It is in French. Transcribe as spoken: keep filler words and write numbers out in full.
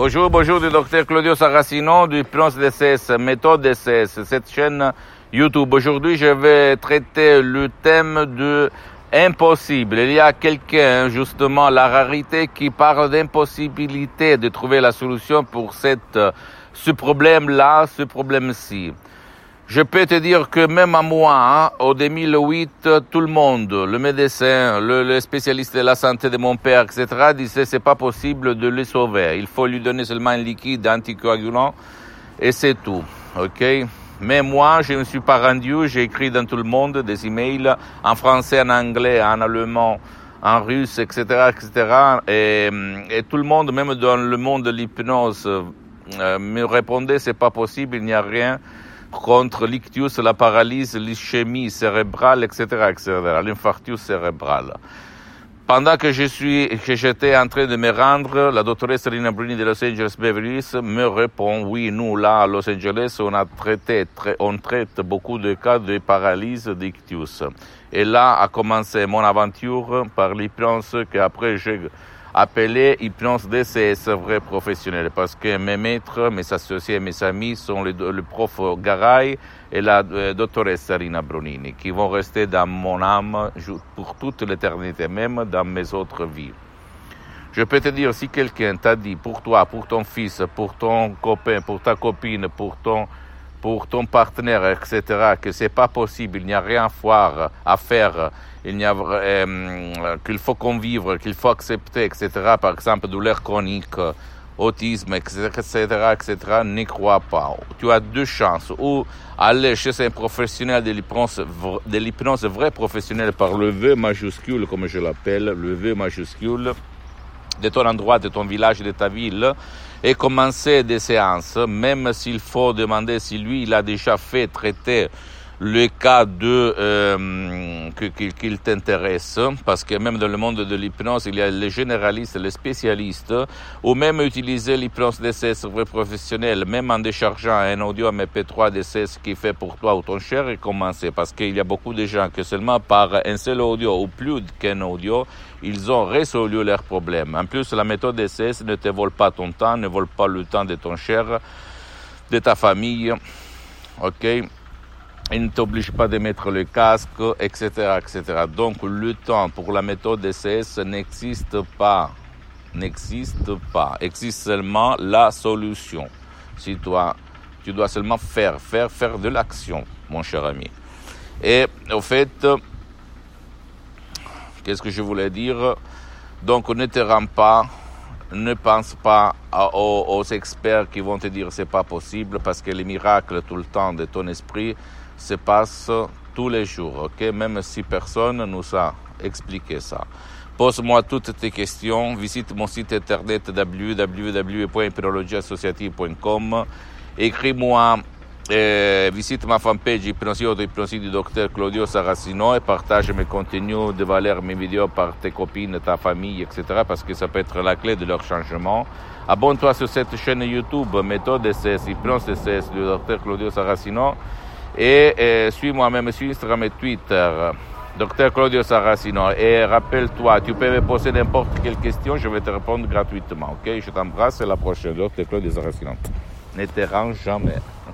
Bonjour, bonjour du docteur Claudio Saracino du Hypnose D C S, méthode D C S, cette chaîne YouTube. Aujourd'hui, je vais traiter le thème de impossible. Il y a quelqu'un, justement, la rarité, qui parle d'impossibilité de trouver la solution pour cette, ce problème-là, ce problème-ci. Je peux te dire que même à moi, hein, au deux mille huit, tout le monde, le médecin, le, le spécialiste de la santé de mon père, et cetera, disait c'est pas possible de le sauver. Il faut lui donner seulement un liquide anticoagulant et c'est tout. Ok? Mais moi, je ne me suis pas rendu. J'ai écrit dans tout le monde des emails en français, en anglais, en allemand, en russe, et cetera, et cetera. Et, et tout le monde, même dans le monde de l'hypnose, euh, me répondait c'est pas possible, il n'y a rien contre l'ictus, la paralysie, l'ischémie cérébrale, et cetera, et cetera, l'infarctus cérébral. Pendant que je suis, que j'étais en train de me rendre, la doctoresse Rina Bruni de Los Angeles Beverly Hills me répond, oui, nous, là, à Los Angeles, on a traité, on traite beaucoup de cas de paralysie d'ictus. Et là a commencé mon aventure par l'hypnose qu'après j'ai appelé hypnose D C S vrai professionnel, parce que mes maîtres, mes associés, mes amis sont le, le prof Garay et la euh, doctoresse Rina Bronini, qui vont rester dans mon âme pour toute l'éternité, même dans mes autres vies. Je peux te dire, si quelqu'un t'a dit pour toi, pour ton fils, pour ton copain, pour ta copine, pour ton pour ton partenaire, et cetera, que c'est pas possible, il n'y a rien à faire, à faire, il n'y a euh, qu'il faut convivre, qu'il faut accepter, et cetera. Par exemple, douleur chronique, autisme, et cetera, et cetera. N'y crois pas. Tu as deux chances, ou aller chez un professionnel de l'hypnose, de l'hypnose vrai professionnel par le V majuscule, comme je l'appelle, le V majuscule, de ton endroit, de ton village, de ta ville, et commencer des séances, même s'il faut demander si lui, il a déjà fait traiter le cas de euh, qu'il, qu'il t'intéresse, parce que même dans le monde de l'hypnose, il y a les généralistes, les spécialistes, ou même utiliser l'hypnose D C S vrai professionnel, même en déchargeant un audio M P trois D C S qui fait pour toi ou ton cher, et commencer, parce qu'il y a beaucoup de gens que seulement par un seul audio ou plus qu'un audio, ils ont résolu leurs problèmes. En plus, la méthode D C S ne te vole pas ton temps, ne vole pas le temps de ton cher, de ta famille, ok? Il ne t'oblige pas de mettre le casque, et cetera, et cetera. Donc, le temps pour la méthode D C S n'existe pas. N'existe pas. Existe seulement la solution. Si toi, tu dois seulement faire, faire, faire de l'action, mon cher ami. Et, au fait, qu'est-ce que je voulais dire? Donc, ne te rends pas, ne pense pas à, aux, aux experts qui vont te dire c'est pas possible, parce que les miracles tout le temps de ton esprit se passe tous les jours, ok? Même si personne nous a expliqué ça. Pose-moi toutes tes questions, visite mon site internet w w w point hypnologie associative point com, écris-moi, euh, visite ma fanpage Hypnosie Auto-Hypnosie du docteur Claudio Saracino et partage mes contenus de valeur, mes vidéos par tes copines, ta famille, et cetera, parce que ça peut être la clé de leur changement. Abonne-toi sur cette chaîne YouTube, méthode D C S, Hypnose D C S du docteur Claudio Saracino. Et, et suis-moi même sur Instagram et Twitter, docteur Claudio Saracino. Et rappelle-toi, tu peux me poser n'importe quelle question, je vais te répondre gratuitement, ok? Je t'embrasse et à la prochaine, docteur Claudio Saracino. Ne te range jamais.